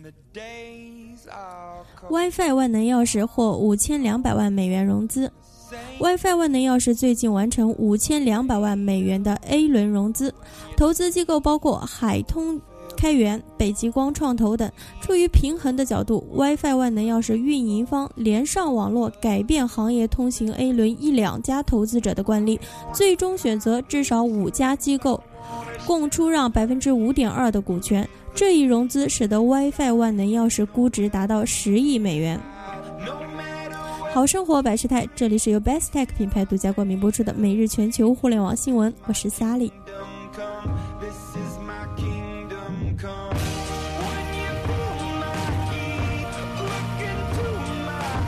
WiFi 万能钥匙获5200万美元融资。WiFi 万能钥匙最近完成5200万美元的 A 轮融资，投资机构包括海通开源、北极光创投等。出于平衡的角度， WiFi 万能钥匙运营方连上网络改变行业通行 A 轮1-2家投资者的惯例，最终选择至少5家机构共出让 5.2% 的股权。这一融资使得 WiFi 万能钥匙估值达到10亿美元。好生活百事态，这里是由 Bestech 品牌独家冠名播出的每日全球互联网新闻，我是 Sally。